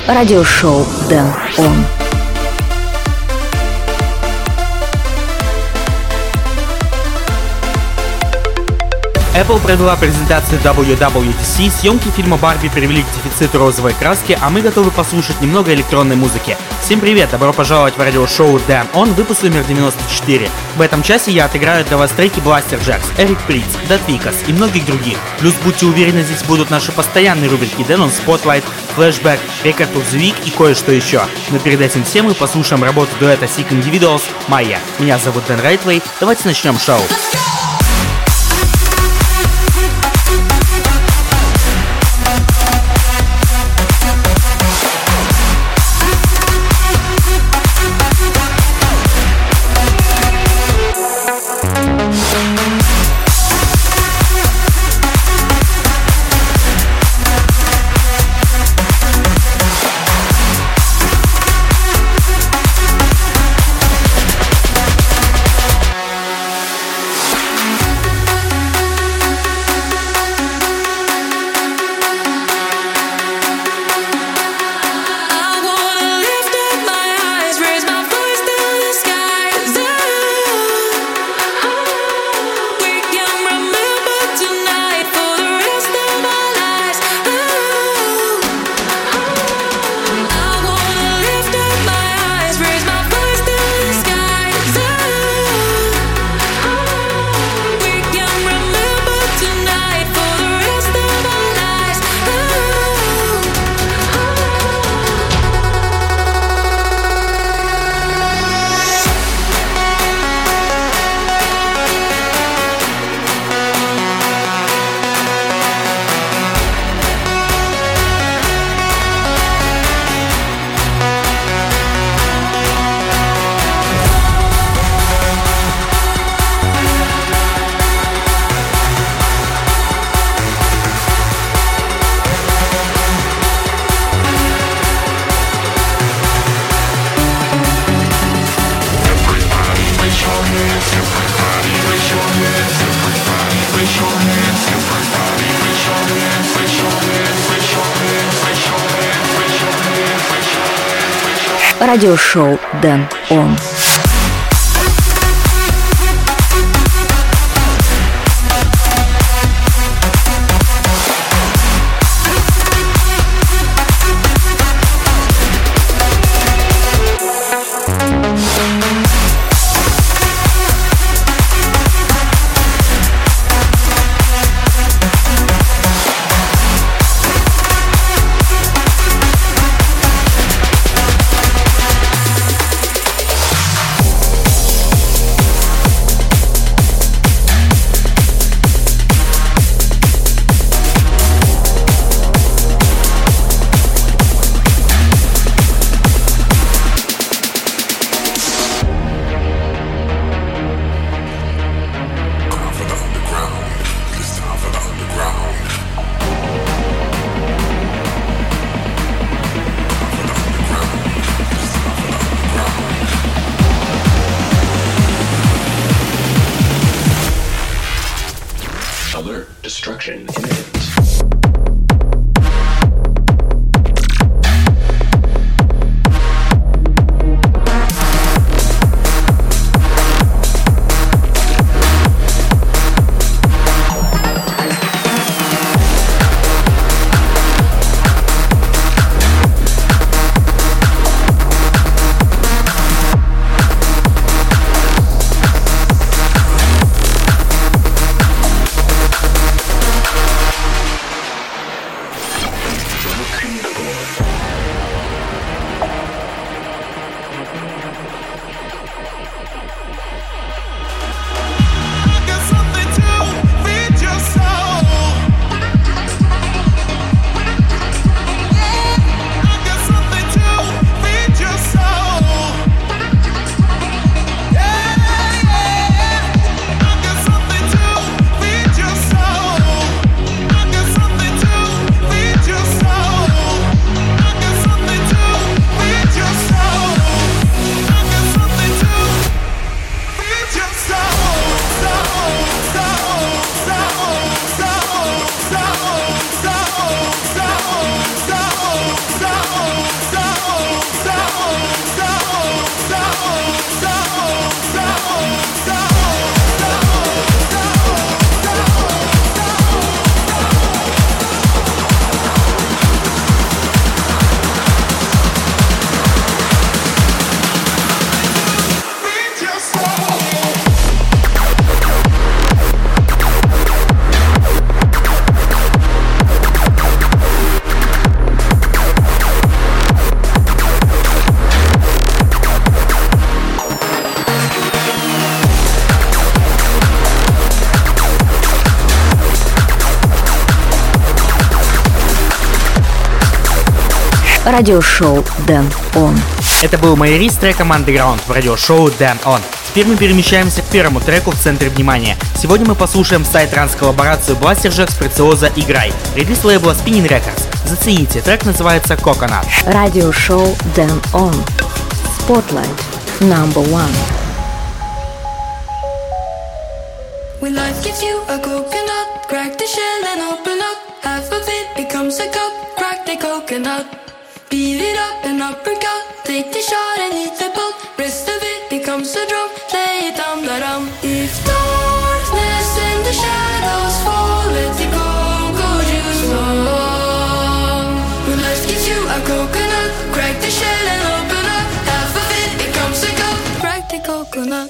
Радиошоу Дэн Он. Apple провела презентацию WWDC, съемки фильма «Барби» привели к дефициту розовой краски, а мы готовы послушать немного электронной музыки. Всем привет, добро пожаловать в радиошоу Dan On, выпуск номер 94. В этом часе я отыграю для вас треки Blaster Jacks, Eric Prydz, Dead Vikas и многих других. Плюс будьте уверены, здесь будут наши постоянные рубрики Dan On Spotlight, Flashback, Record of the Week и кое-что еще. Но перед этим всем мы послушаем работу дуэта Sick Individuals «Майя». Меня зовут Дэн Райтвей, давайте начнем шоу. Радиошоу Дэн Он. Радиошоу Дэн Он. Это был Майри с треком Underground в радиошоу Дэн Он. Теперь мы перемещаемся к первому треку в центре внимания. Сегодня мы послушаем сайт-транс-коллаборацию Blasterjaxx, Preziosa «Играй». Релиз лейбла Spinning Records. Зацените, трек называется Coconut. Радиошоу Дэн Он. Spotlight #1. When life gives you a coconut, crack the shell and open up. Half of it becomes a cup, crack the coconut. Beat it up and uppercut, take the shot and eat the pulp. Rest of it becomes a drum, play it dum-da-dum. If darkness and the shadows fall, let the cocoa juice flow. When life gives you a coconut, crack the shell and open up. Half of it becomes a cup, crack the coconut.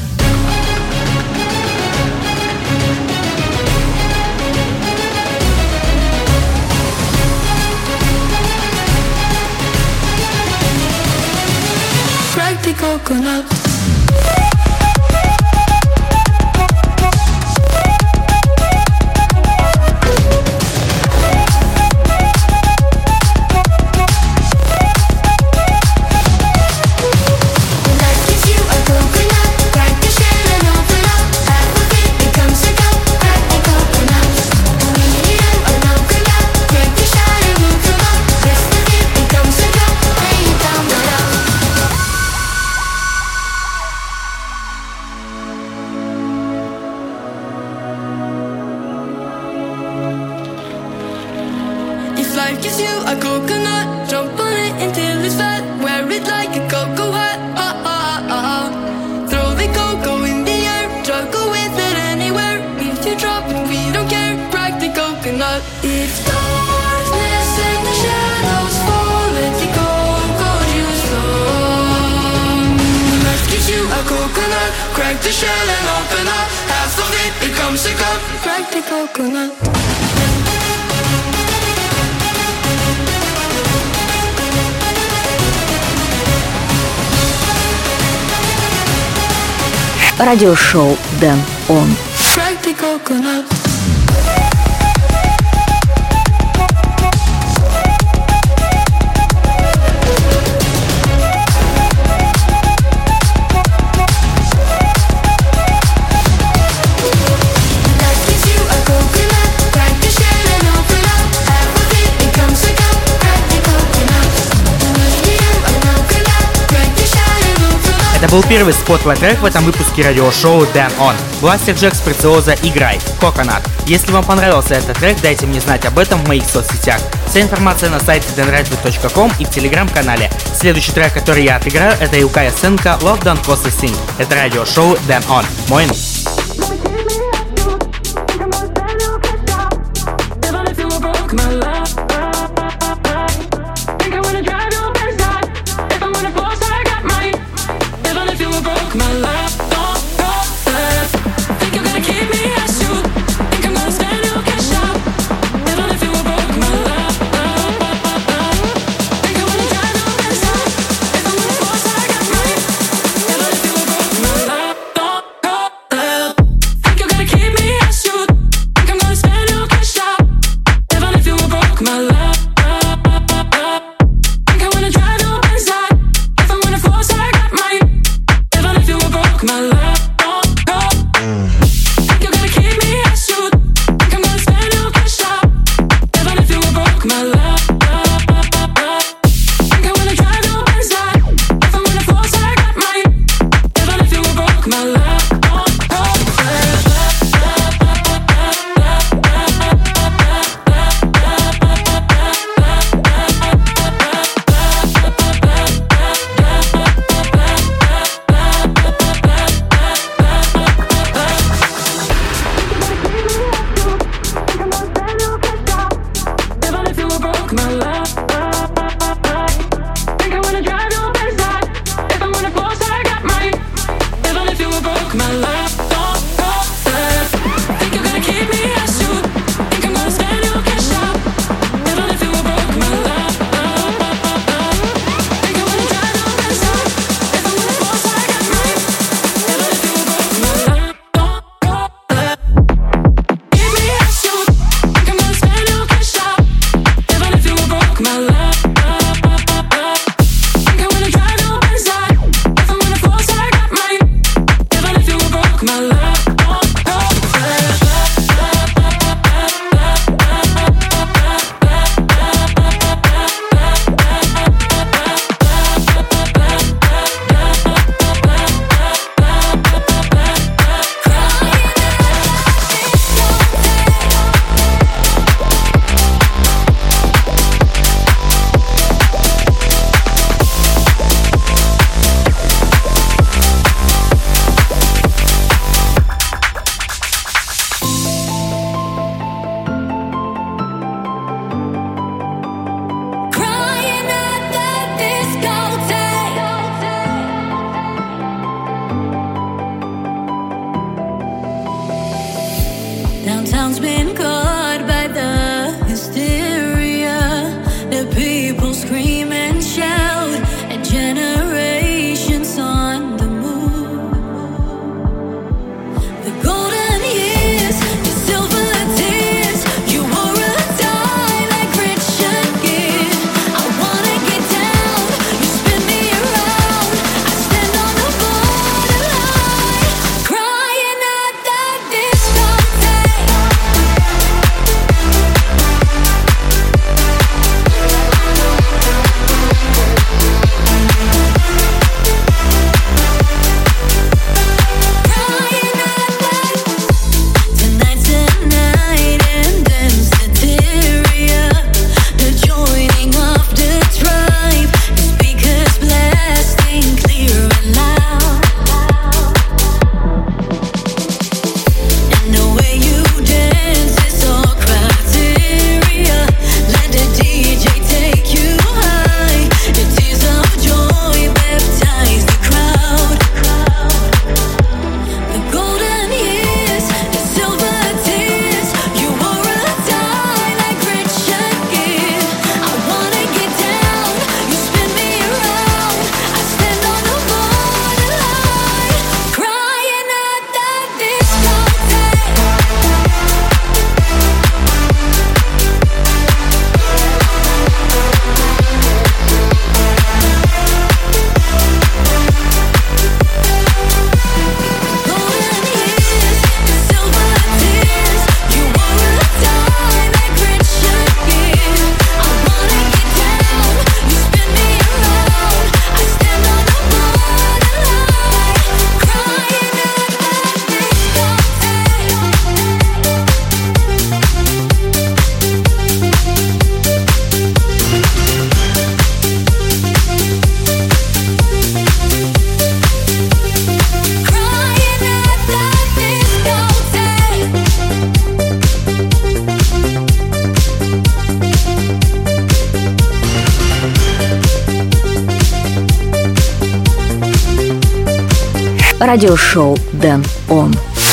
Crack the coconut. Life gives you a coconut, jump on it until it's fat. Wear it like a cocoa hat. Throw the cocoa in the air, juggle with it anywhere. If you drop it, we don't care. Crack the coconut. If darkness and the shadows fall, let the cocoa juice flow. Life gives you a coconut, crack the shell and open up. Half of it becomes a cup. Crack the coconut. Радиошоу Дэн Он. Crack the coconut. Это был первый Spotlight трек в этом выпуске радиошоу Дэн Он. Blasterjaxx, Preziosa «Играй», Coconut. Если вам понравился этот трек, дайте мне знать об этом в моих соцсетях. Вся информация на сайте denradio.com и в телеграм-канале. Следующий трек, который я отыграю, это Юкая Сенка «Love Don't Cost a Thing». Это радиошоу Дэн Он. Моин. Радиошоу Дэн Он.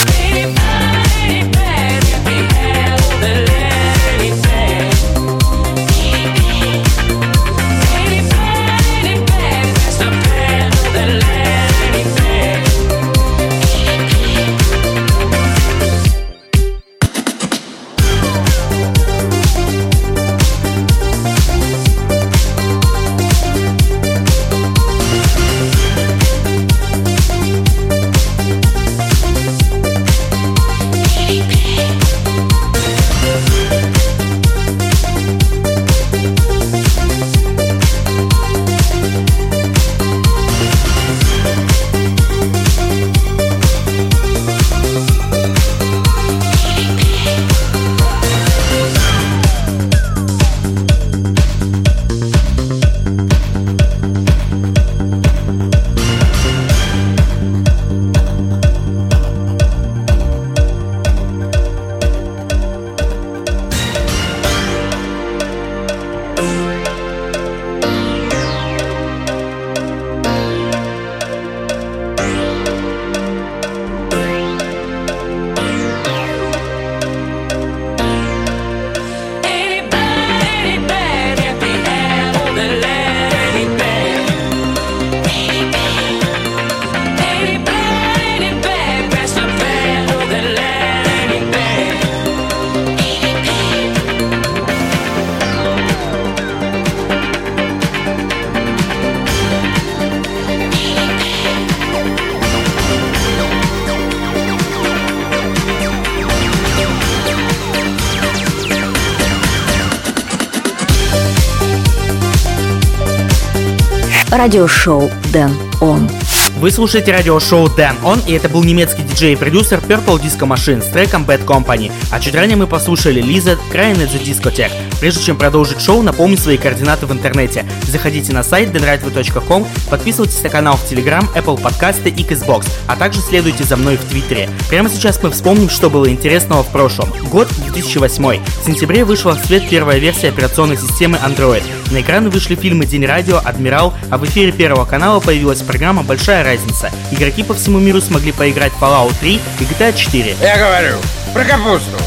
Радиошоу Дэн Он. Вы слушаете радиошоу Дэн Он, и это был немецкий диджей и продюсер Purple Disco Machine с треком Bad Company. А чуть ранее мы послушали Lizard Crying at the Discotheque. Прежде чем продолжить шоу, напомню свои координаты в интернете. Заходите на сайт denradio.com, подписывайтесь на канал в Telegram, Apple подкасты и Castbox, а также следуйте за мной в Твиттере. Прямо сейчас мы вспомним, что было интересного в прошлом. Год 2008. В сентябре вышла в свет первая версия операционной системы Android. На экраны вышли фильмы «День радио», «Адмирал», а в эфире Первого канала появилась программа «Большая разница». Игроки по всему миру смогли поиграть в Fallout 3 и GTA 4. Я говорю про капусту.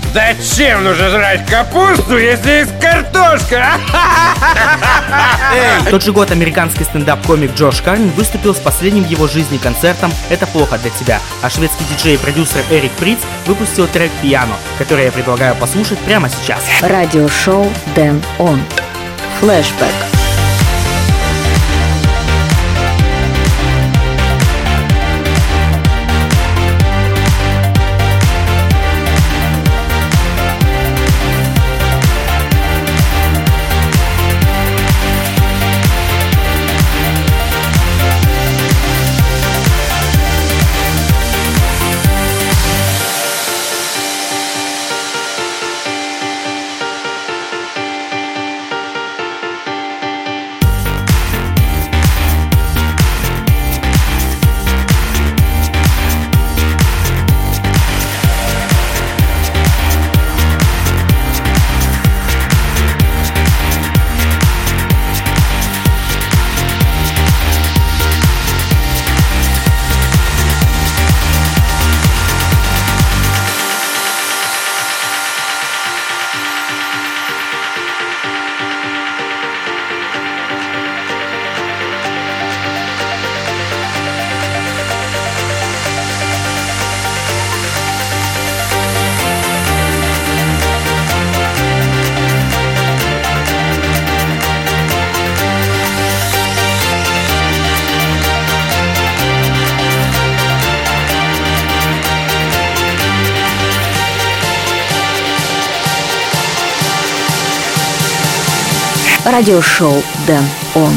Зачем нужно жрать капусту, если есть картошка? В тот же год американский стендап-комик Джош Карнин выступил с последним в его жизни концертом «Это плохо для тебя», а шведский диджей и продюсер Эрик Приц выпустил трек «Пиано», который я предлагаю послушать прямо сейчас. Радиошоу Дэн Он. Флэшбэк. Радиошоу Дэн Он.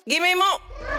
Give me more.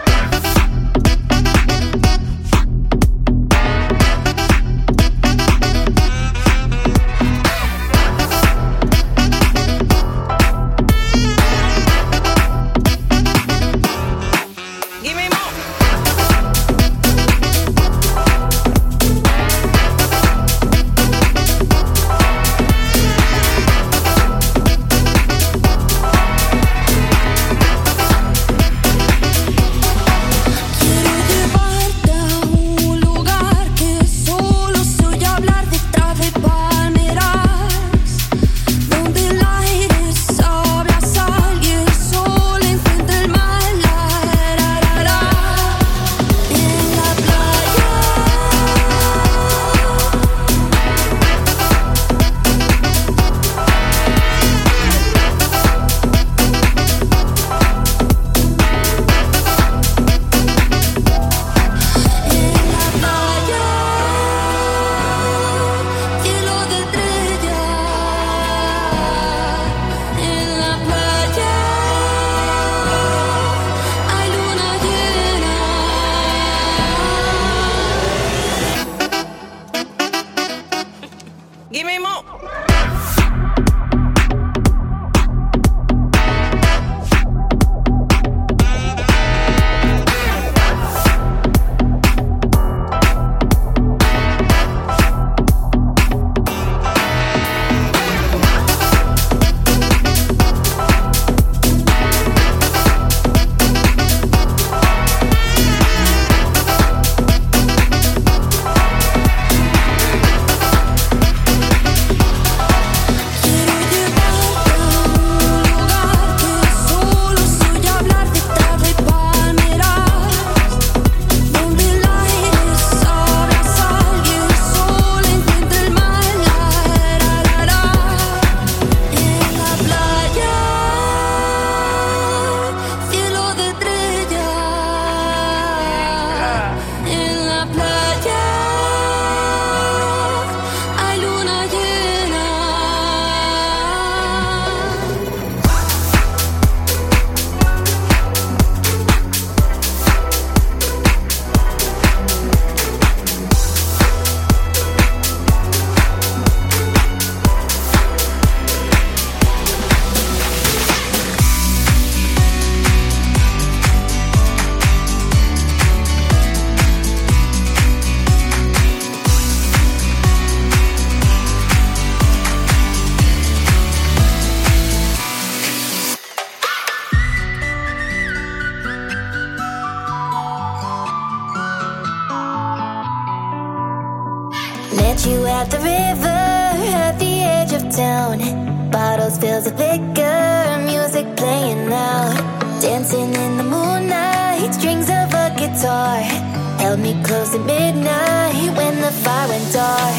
Met you at the river, at the edge of town. Bottles filled with liquor, music playing loud. Dancing in the moonlight, strings of a guitar held me close at midnight when the fire went dark.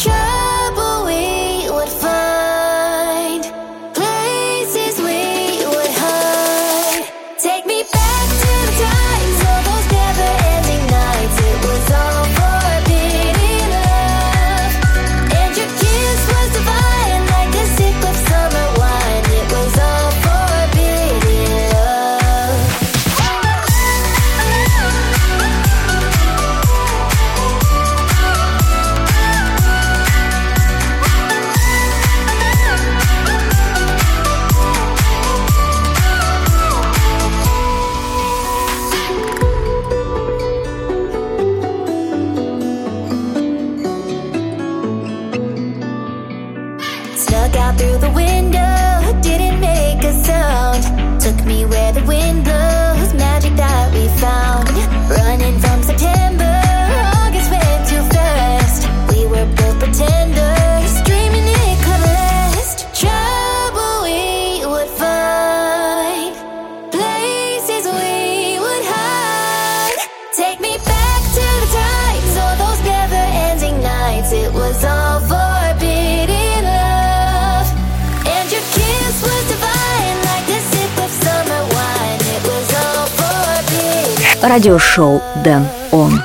Trouble we would find, places we would hide. Take me back to the times, all those never-ending nights. It was all forbidden love, and your kiss was divine, like a sip of summer wine. It was all forbidden love. Snuck out through the window, didn't make a sound. Took me where the wind blows, magic that we found. Running from September, August went too fast. We were both pretenders, dreaming it could last. Trouble we would find, places we would hide. Take me back to the times, all those never-ending nights. It was all forbidden love, and your kiss was divine, like the sip of summer wine. It was all forbidden. Радиошоу Дэн Он.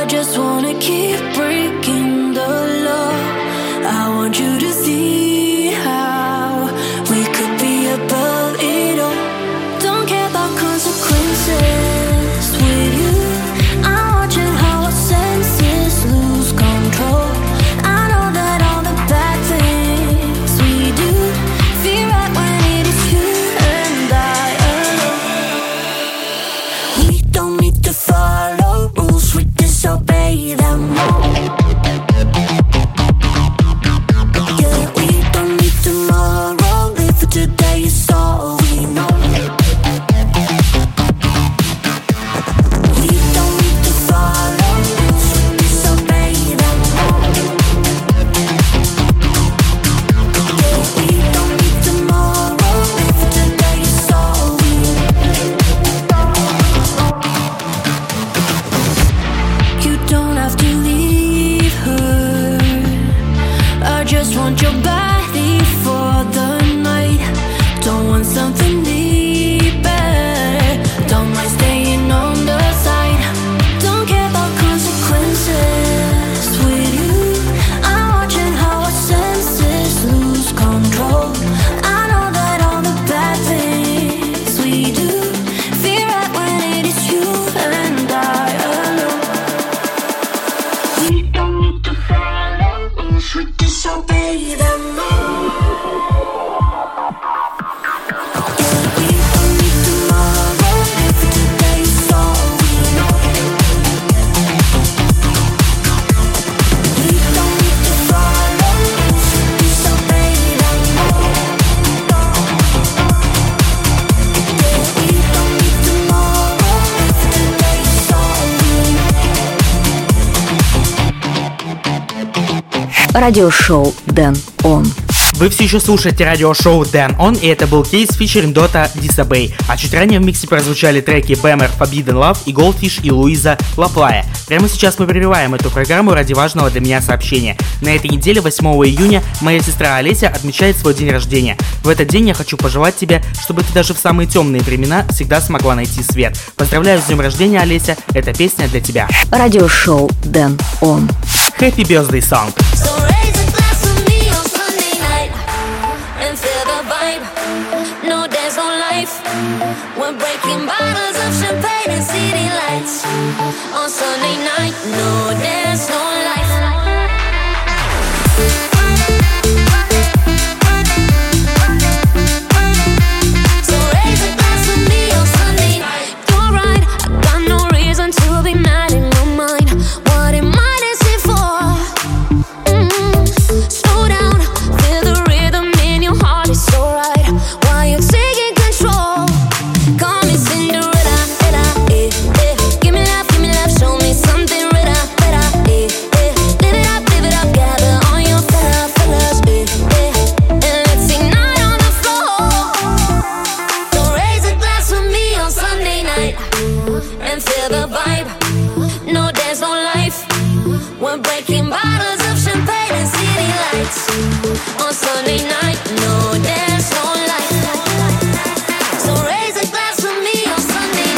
just wanna keep breaking the law. I want you to see how we could be above it all. Don't care about consequences with you. I'm watching how our senses lose control. I know that all the bad things we do feel right when it is you and I alone. We don't need to follow rules, we disobey them all. Yeah, we don't need tomorrow, live for today is all we know. We don't need to follow rules, we disobey them all. Yeah, we don't need tomorrow, live for today is all we know. You don't have to leave her. I just want your body for the night. Don't want something deeper. Don't mind staying on the side. Don't care about consequences with you. I'm watching how our senses lose control. I know that all the bad things we do feel right when it is you and I alone. We don't need to follow rules, we disobey them all. Yeah, we don't need tomorrow, live for today is all we know. We don't need to follow rules, we disobey them all. Yeah, we don't need tomorrow, live for today is all we know. Радиошоу Дэн Он. Вы все еще слушаете радиошоу Dan On, и это был кейс фичеринг Dota Disobey. А чуть ранее в миксе прозвучали треки Bammer Forbidden Love и Goldfish и Луиза Лаплая. Прямо сейчас мы прерываем эту программу ради важного для меня сообщения. На этой неделе, 8 июня, моя сестра Олеся отмечает свой день рождения. В этот день я хочу пожелать тебе, чтобы ты даже в самые темные времена всегда смогла найти свет. Поздравляю с днем рождения, Олеся, эта песня для тебя. Радиошоу Дэн Он. Happy Birthday Song. So raise a glass with me on Sunday night and feel the vibe. No dance, no life. We're breaking bottles of champagne and city lights. On Sunday night, no dance, no life. So raise a glass with me on Sunday night. You're right, I got no reason to be mad in my mind. What am I dancing for? Slow down, feel the rhythm in your heart, it's alright. While you're taking control, call me Cinderella, eh. Give me love, show me something better, eh. Live it up, gather all your fellas, eh. And let's ignite on the floor. So raise a glass with me on Sunday night and feel the vibe. No dance, no life. We're breaking bottles of champagne and city lights. On Sunday night, no dance, no life. So raise a glass with me on Sunday.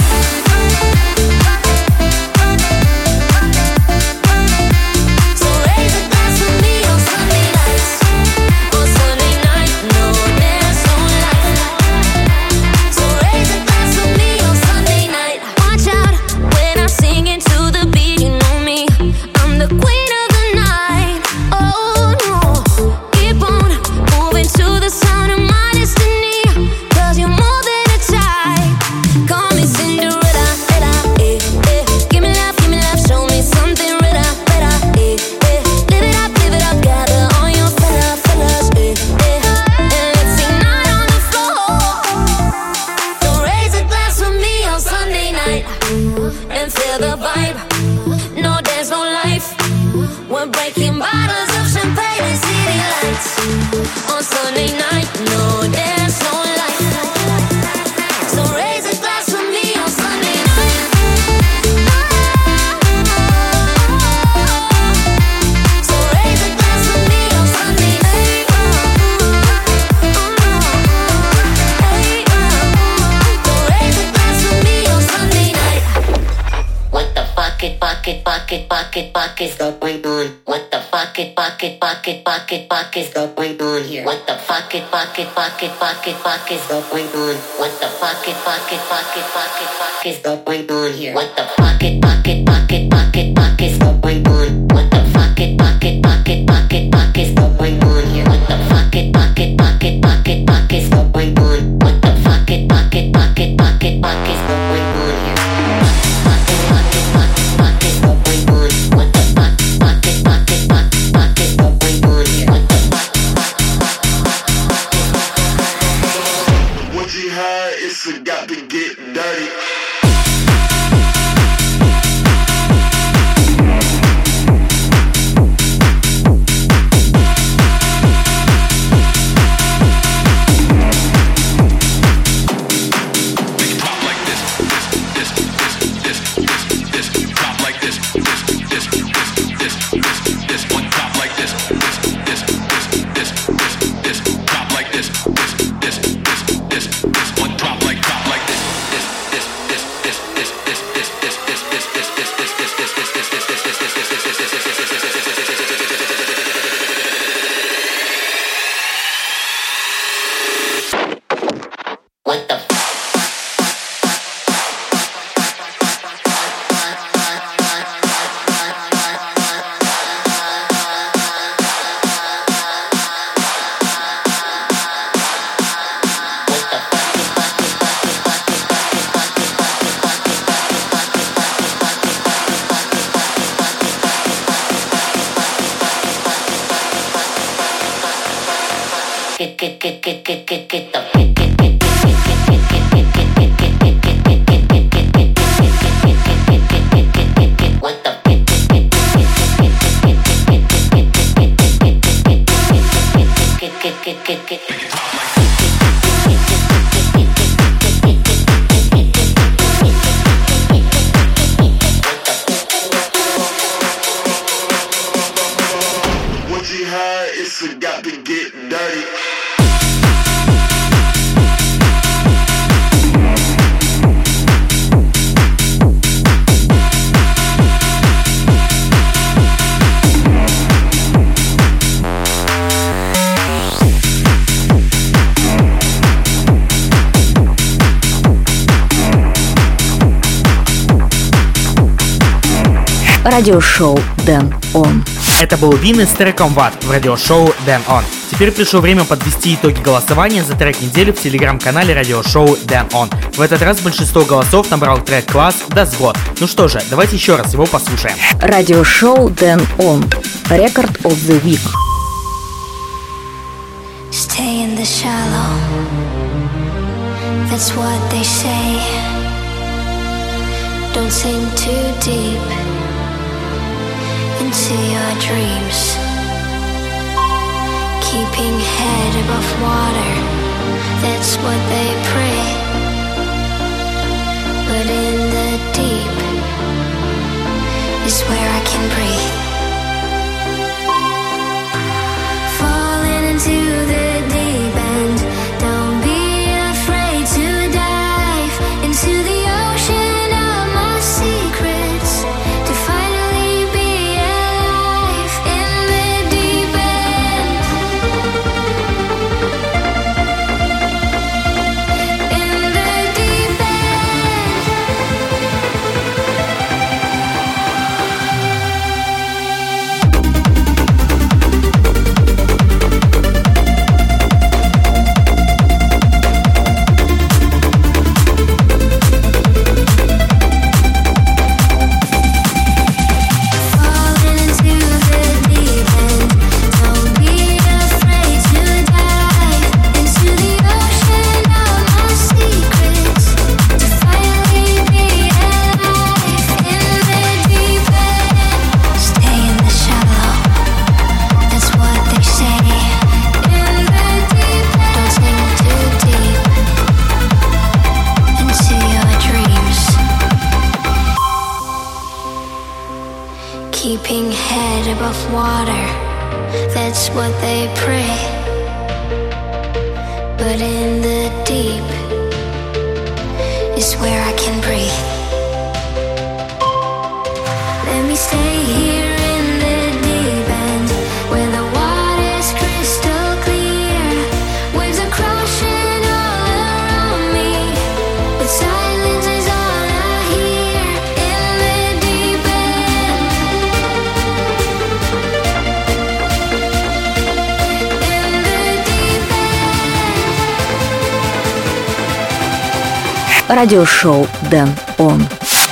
So raise a glass with me on Sunday nights. On Sunday night, no dance, no life. So raise a glass with me on Sunday night. Watch out when I'm singing to the beat, you know me. I'm the queen of the night. Oh no, keep on moving to the sound of my destiny. 'Cause you're more than a type. Call me Cinderella, eh. Give me love, show me something better, eh. Live it up, gather all your fellas, eh. And let's ignite on the floor. So raise a glass with me on Sunday night and feel the vibe. No dance, no life. We're breaking bottles of champagne and city lights. On Sunday night, no dance, no life. So raise a glass with me on Sunday night. So raise a glass with me on Sunday night. So raise a glass with me on Sunday night. With the bucket. is going on? What the fuck is going on here? What the fuck is going on? What the fuck is going on here? What the fuck is going on? What the fuck is going on here? What the fuck is going on? What the fuck is going on here? It's got to get dirty. Радиошоу Дэн Он. Это был Вин с треком What в радиошоу Дэн Он. Теперь пришло время подвести итоги голосования за трек недели в телеграм-канале радиошоу Дэн Он. В этот раз большинство голосов набрал трек Класс Das Wort. Ну что же, давайте еще раз его послушаем. Радиошоу Дэн Он. Record of the Week. Stay in the shallow. That's what they say. Don't sink too deep into your dreams. Keeping head above water, that's what they pray. But in the deep is where I can breathe. Falling into the deep end, don't be afraid to dive into the ocean of my secrets. To finally be alive in the deep end. In the deep end. Falling into the deep end, don't be afraid to dive into the ocean of my secrets. To finally be alive in the deep end. Stay in the shallow, that's what they say. In the deep end, don't sink too deep into your dreams. Keeping head above water, that's what they pray. But in the deep is where I can breathe. Let me stay here in the deep end, where the water's crystal clear. Waves are crashing all around me, but silence is all I hear. In the deep end, in the deep end. Радиошоу Дэн Он.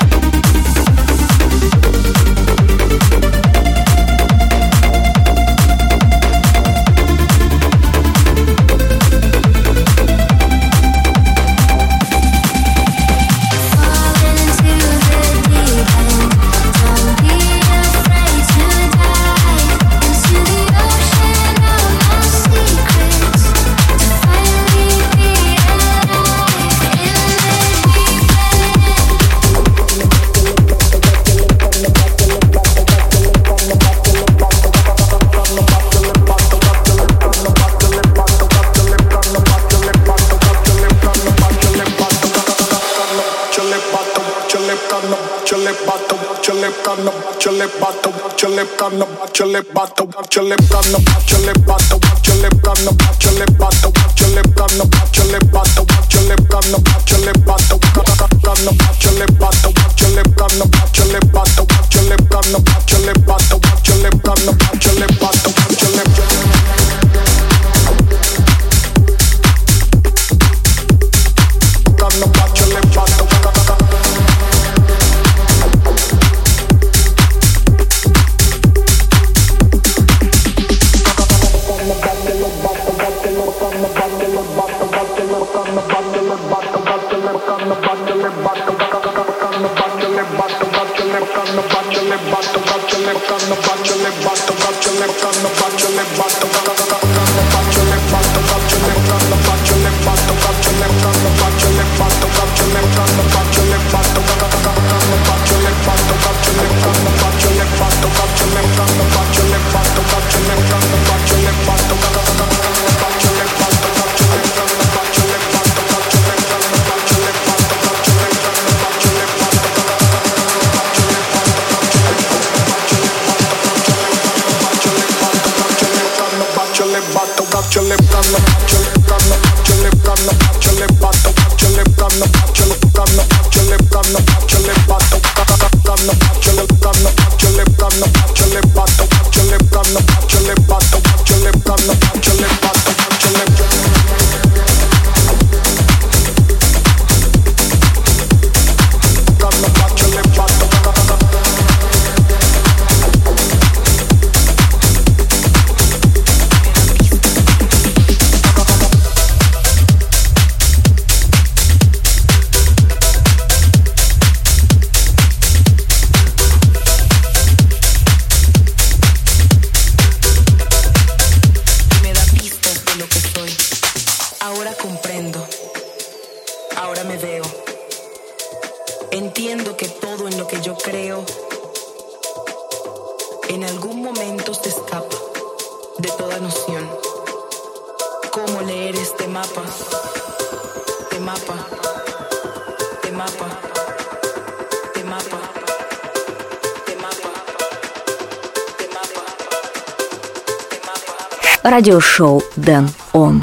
Радиошоу Дэн Он.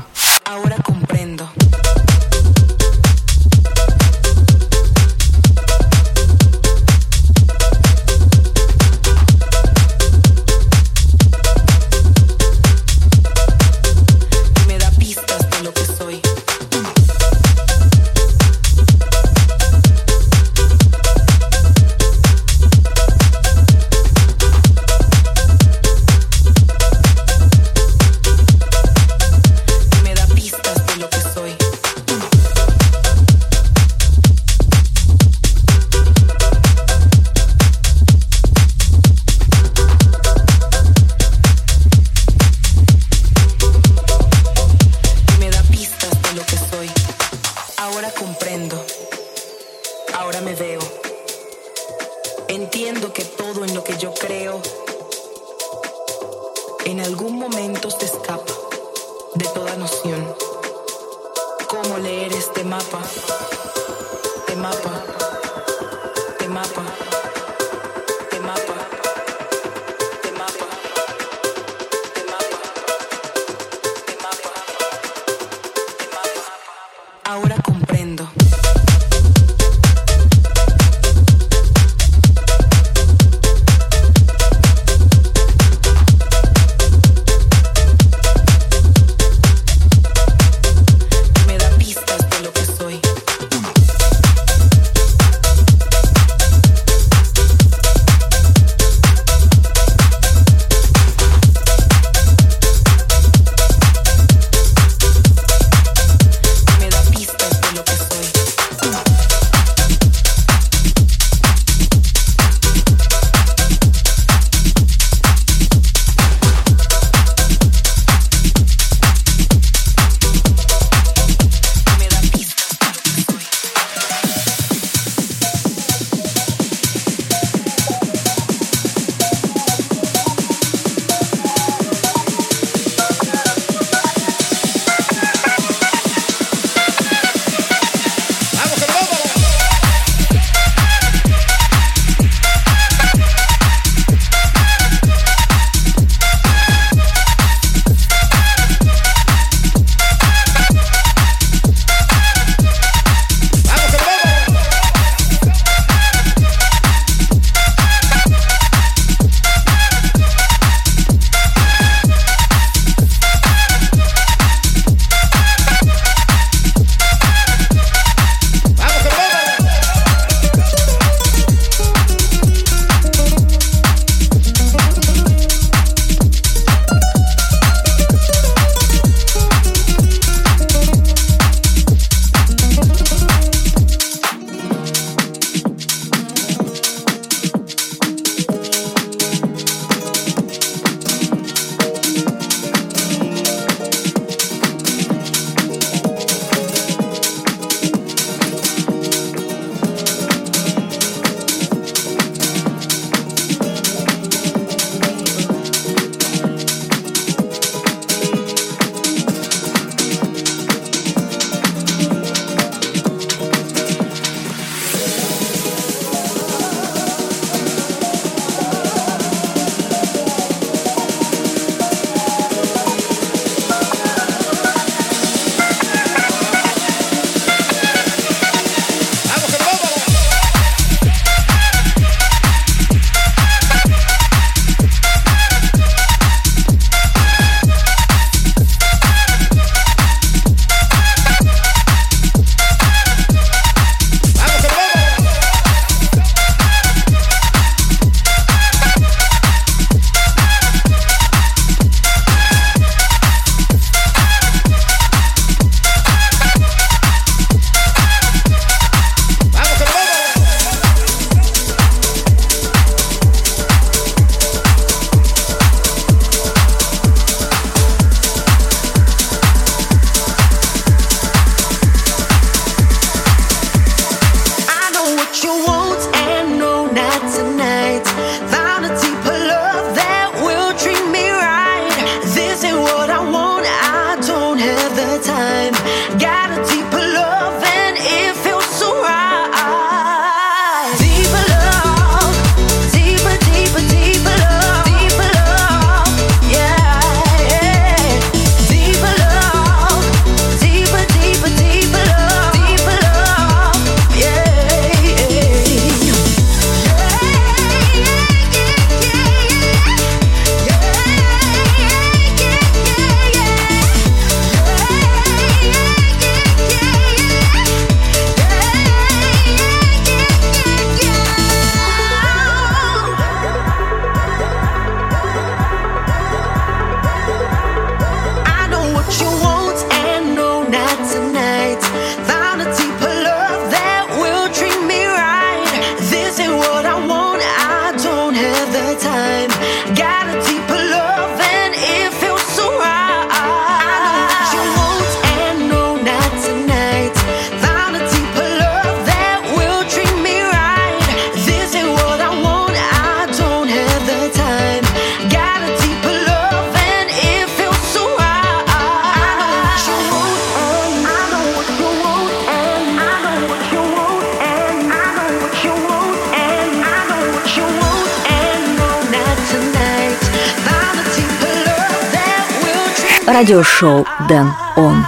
Entiendo que todo en lo que yo creo en algún momento se escapa de toda noción. ¿Cómo leer este mapa? De mapa, de mapa, de mapa. Радиошоу Дэн Он.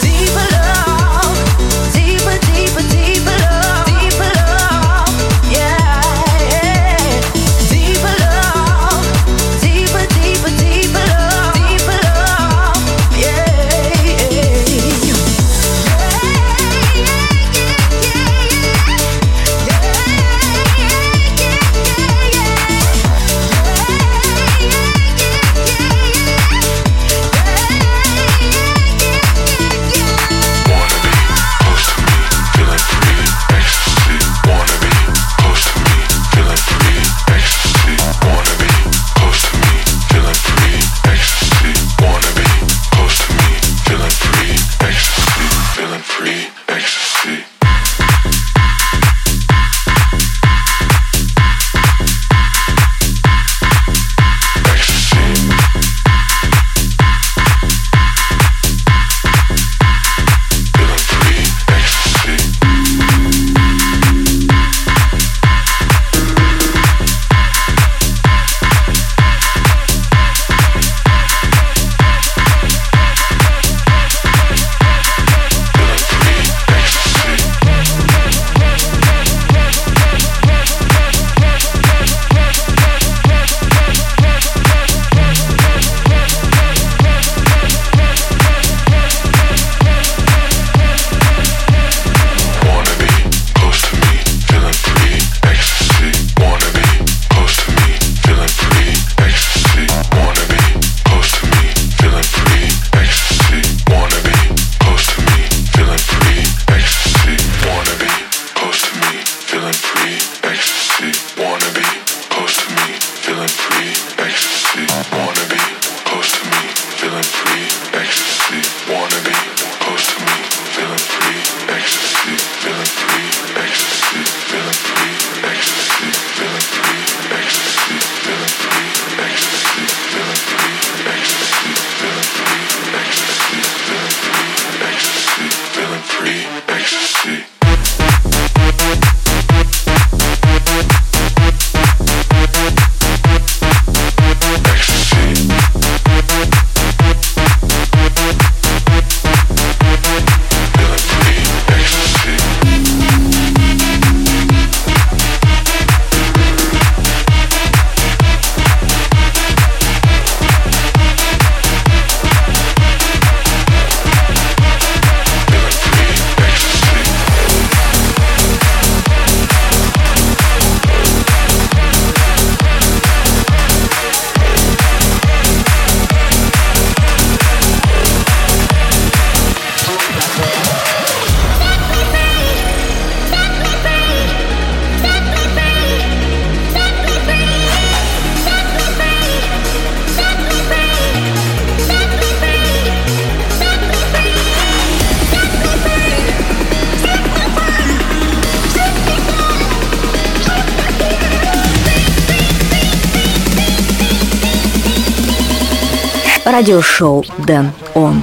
Радиошоу Дэн Он.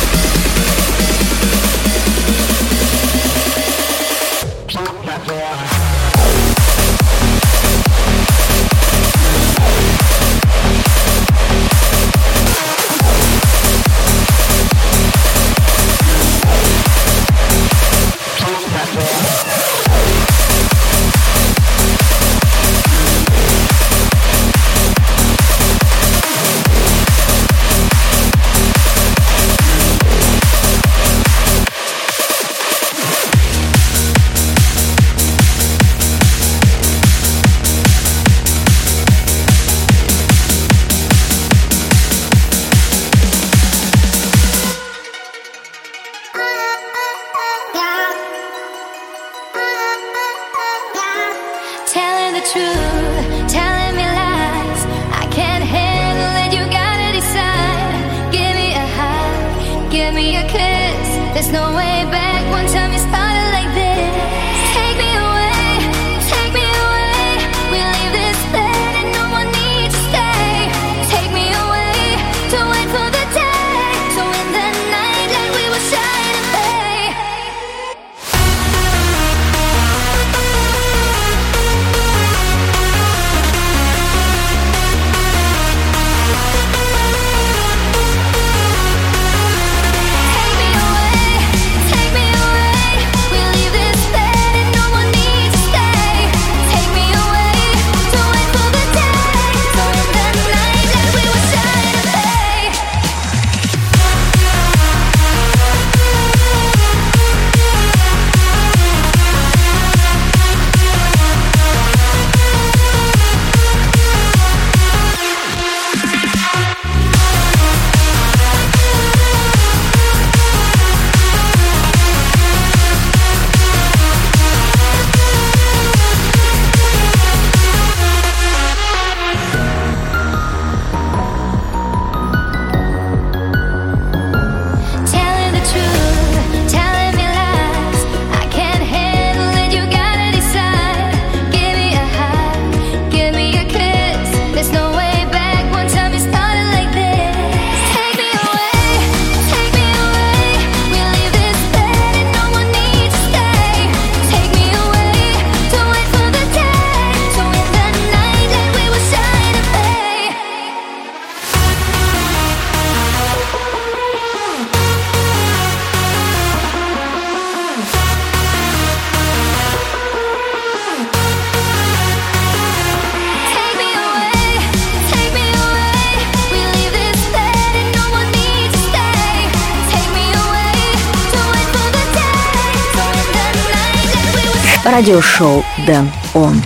Yeah. truth, telling me lies. I can't handle it, you gotta decide. Give me a hug, give me a kiss. There's no way back, one time you started like this. Take me away, we leave this bed and no one needs to stay. Take me away, to wait for the day, so in the night like we were shy to pay. Take me away, we leave this bed and no one needs to stay. Take me away, to wait for the day, so in the night like we were shy to pay. Telling the truth, telling me lies. I can't handle it, you gotta decide. Give me a hug, give me a kiss. There's no way back, one time you started like this. Take me away, we leave this bed and no one needs to stay. Take me away, to wait for the day, so in the night like we were shy to pay. Take me away, we leave this bed and no one needs to stay. Take me away, to wait for the day, so in the night like we were Радиошоу Дэн Он.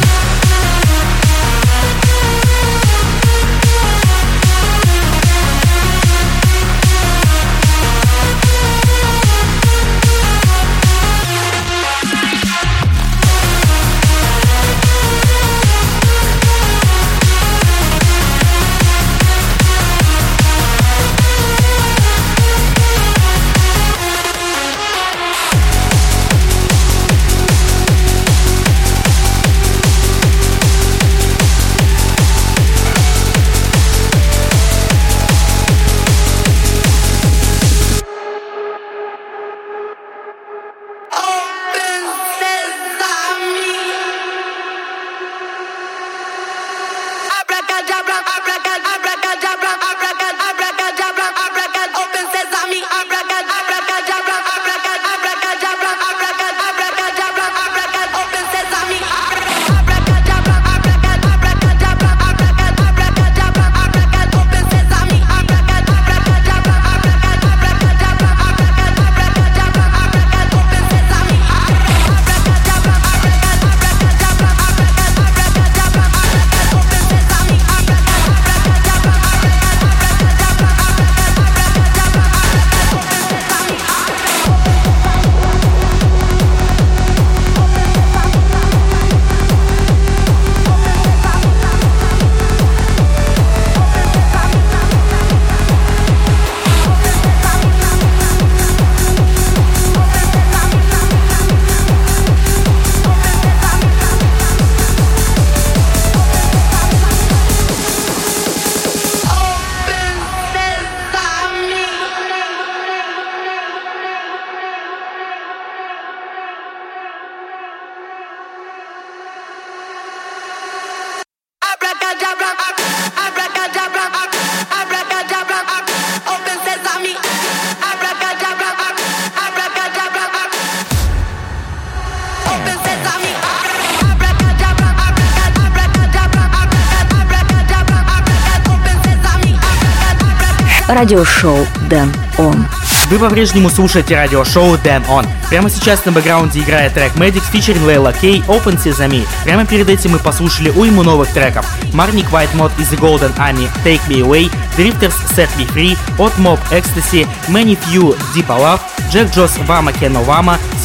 Радиошоу Дэн Он. Вы по-прежнему слушаете радиошоу Дэн Он. Прямо сейчас на бэкграунде играет трек Medics featuring Layla K, Open Sesame. Прямо перед этим мы послушали уйму новых треков. Marnik Whitemod из The Golden Army, Take Me Away, Drifters Set Me Free, от Mob Ecstasy, Many Few Deep Love, Jack Joss Vama Ken Ovama,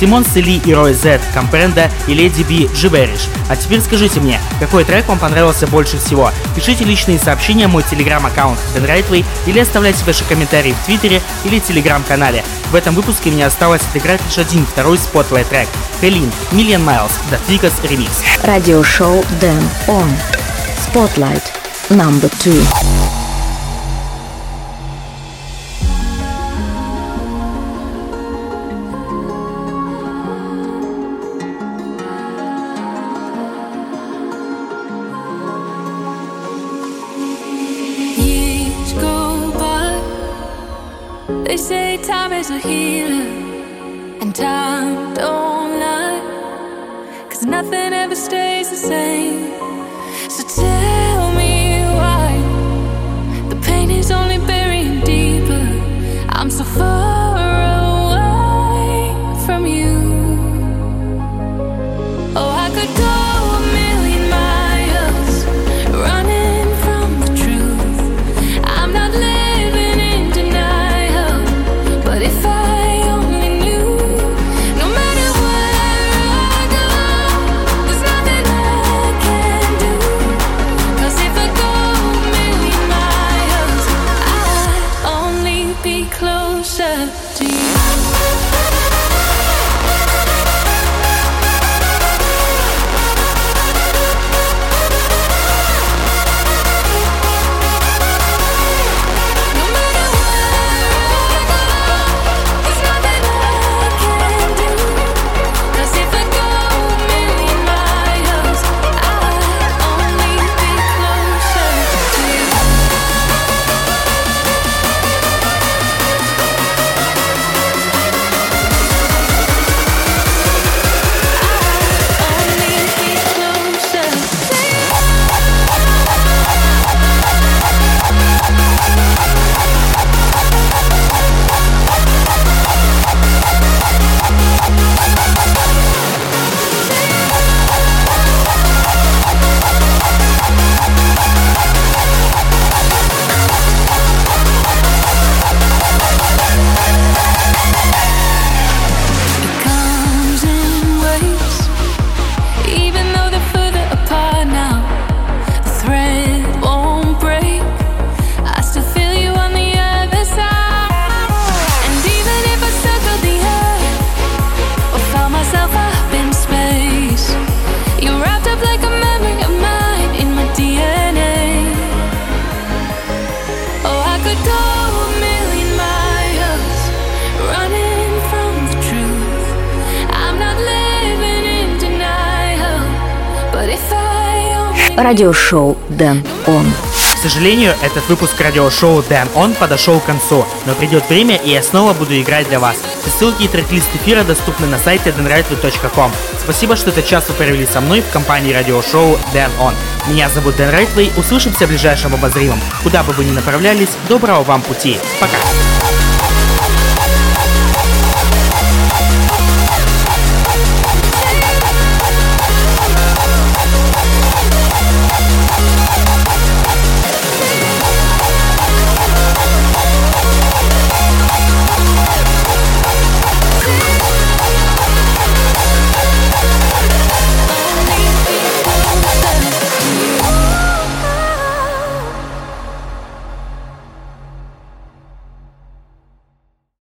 Симон Сели и Рой Z, Компренда и Леди Би Gibberish. А теперь скажите мне, какой трек вам понравился больше всего? Пишите личные сообщения в мой телеграм-аккаунт Dan Rightway или оставляйте ваши комментарии в Твиттере или телеграм-канале. В этом выпуске мне осталось отыграть лишь один второй спотлайт трек. Хелин, Million Miles, The Tweakers Remix. Радиошоу Dan On. Spotlight number 2. They say time is a healer, and time don't lie, 'cause nothing ever stays the same. So tell me why the pain is only burying deeper. I'm so far away from you. Oh, I could go a million miles running from the truth. I'm not living in denial, but if I only knew, no matter where I go, there's nothing I can do. 'Cause if I go a million miles, I'd only be closer to you. Радиошоу Dan On. К сожалению, этот выпуск радиошоу Dan On подошел к концу, но придет время, и я снова буду играть для вас. Все ссылки и трек-лист эфира доступны на сайте danrightway.com. Спасибо, что этот час вы провели со мной в компании радиошоу Dan On. Меня зовут Dan Rightway, услышимся в ближайшем обозримом. Куда бы вы ни направлялись, доброго вам пути. Пока!